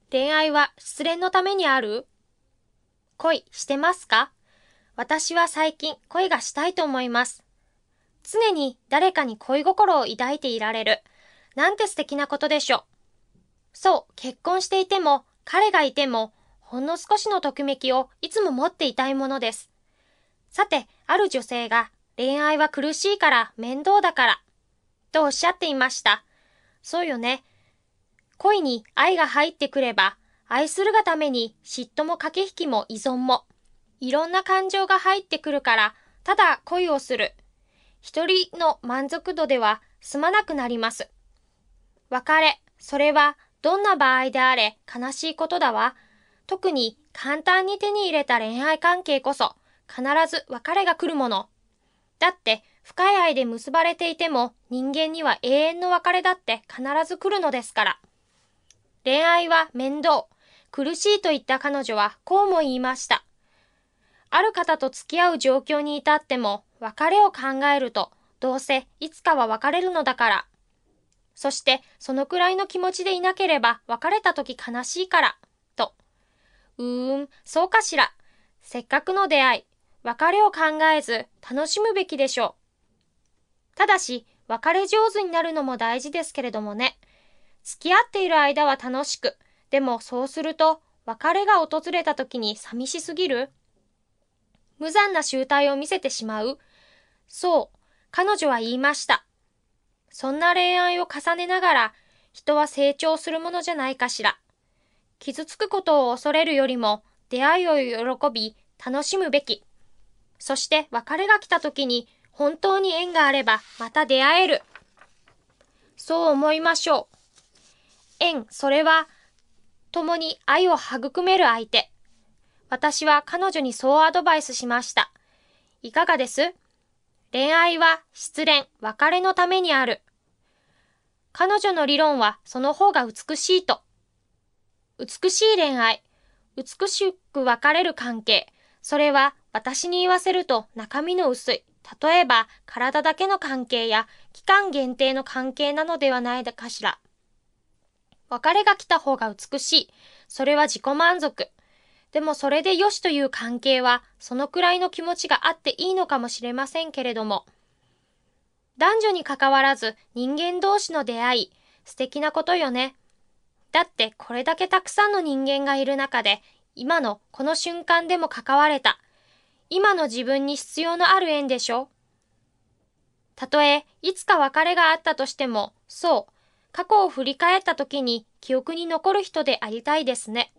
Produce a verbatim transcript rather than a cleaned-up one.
恋愛は失恋のためにある？恋してますか？私は最近恋がしたいと思います。常に誰かに恋心を抱いていられる。なんて素敵なことでしょう。そう、結婚していても、彼がいても、ほんの少しのときめきをいつも持っていたいものです。さて、ある女性が恋愛は苦しいから面倒だから、とおっしゃっていました。そうよね。恋に愛が入ってくれば、愛するがために嫉妬も駆け引きも依存も、いろんな感情が入ってくるから、ただ恋をする。一人の満足度では済まなくなります。別れ、それはどんな場合であれ悲しいことだわ。特に簡単に手に入れた恋愛関係こそ、必ず別れが来るもの。だって、深い愛で結ばれていても、人間には永遠の別れだって必ず来るのですから。恋愛は面倒、苦しいと言った彼女はこうも言いました。ある方と付き合う状況に至っても、別れを考えると、どうせいつかは別れるのだから。そして、そのくらいの気持ちでいなければ別れた時悲しいから、と。うーん、そうかしら。せっかくの出会い、別れを考えず楽しむべきでしょう。ただし、別れ上手になるのも大事ですけれどもね。付き合っている間は楽しく、でもそうすると、別れが訪れた時に寂しすぎる？無残な醜態を見せてしまう？そう、彼女は言いました。そんな恋愛を重ねながら、人は成長するものじゃないかしら。傷つくことを恐れるよりも、出会いを喜び、楽しむべき。そして別れが来た時に、本当に縁があれば、また出会える。そう思いましょう。縁、それは、共に愛を育める相手。私は彼女にそうアドバイスしました。いかがです？恋愛は失恋、別れのためにある。彼女の理論はその方が美しいと。美しい恋愛、美しく別れる関係。それは私に言わせると中身の薄い。例えば体だけの関係や期間限定の関係なのではないかしら。別れが来た方が美しい。それは自己満足。でもそれでよしという関係はそのくらいの気持ちがあっていいのかもしれませんけれども。男女に関わらず人間同士の出会い、素敵なことよね。だってこれだけたくさんの人間がいる中で、今のこの瞬間でも関われた。今の自分に必要のある縁でしょ。たとえいつか別れがあったとしても、そう、過去を振り返った時に記憶に残る人でありたいですね。